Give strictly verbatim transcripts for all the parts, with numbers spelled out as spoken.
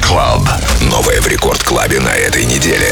Club. Новое в Рекорд Клабе на этой неделе.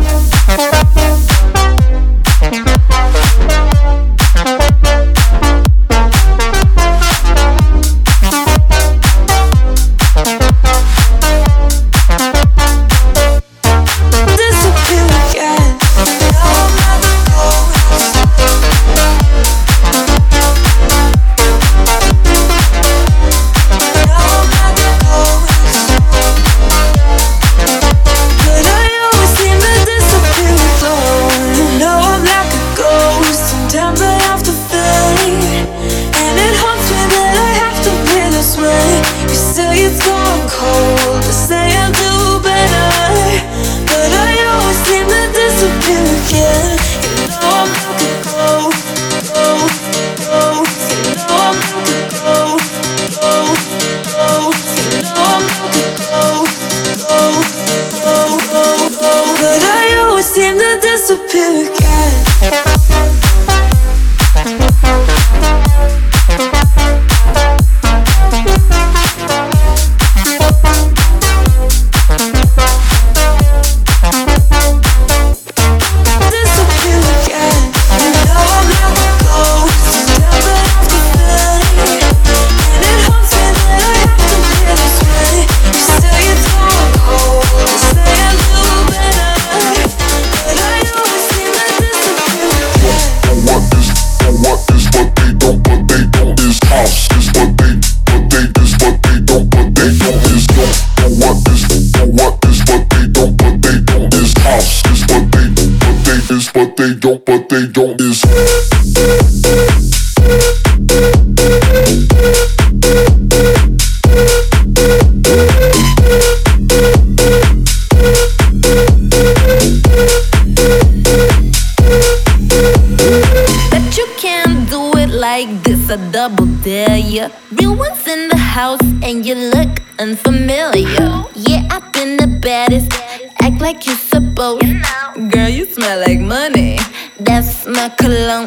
A double dare ya. Real ones in the house and you look unfamiliar. Yeah, I've been the baddest. Act like you're supposed. Girl, you smell like money. That's my cologne.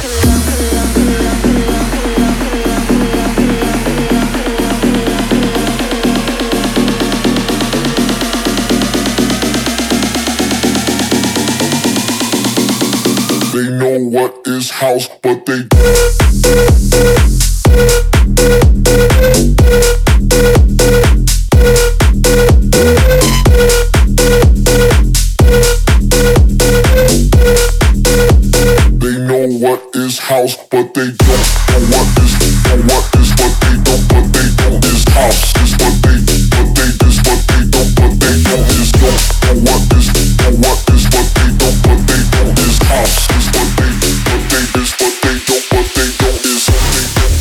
They know what is house, but they They know what is house, but they don't know what is know what is what they don't, but they don't is house is what they but they is what they don't, but they don't is don't know what is know what is what they don't, but they don't is house is what they but they is what they don't, but they don't is what they don't.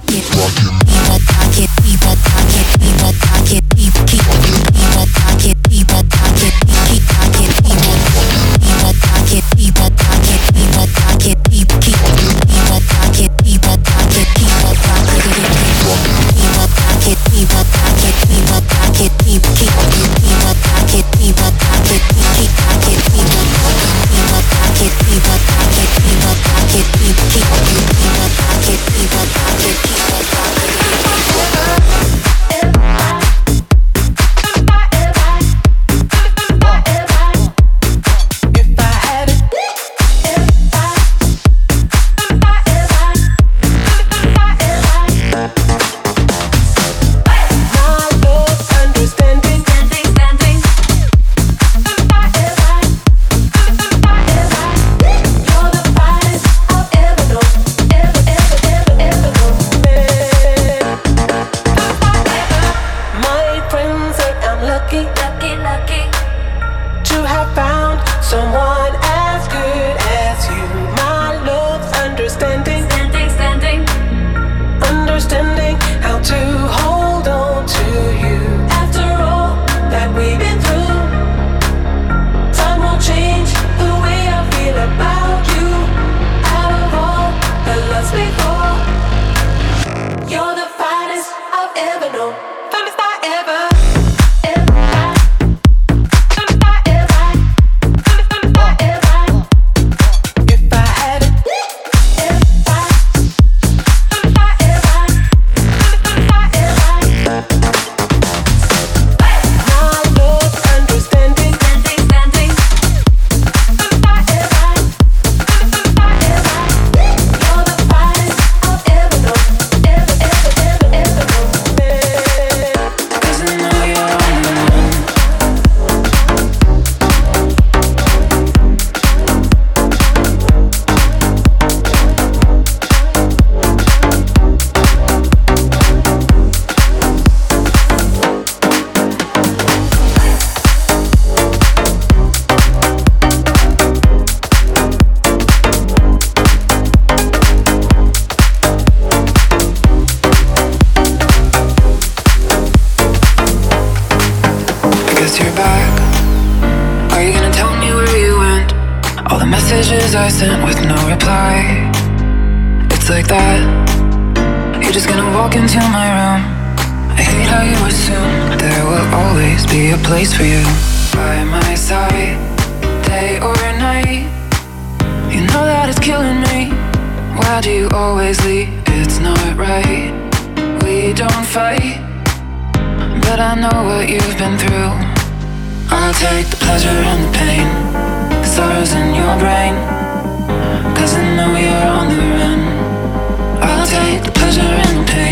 I sent with no reply. It's like that. You're just gonna walk into my room. I hate how you assume there will always be a place for you by my side, day or night. You know that it's killing me. Why do you always leave? It's not right. We don't fight, but I know what you've been through. I'll take the pleasure and the pain, the sorrows in your brain, 'cause I know you're on the run. I'll take the pleasure and the pain.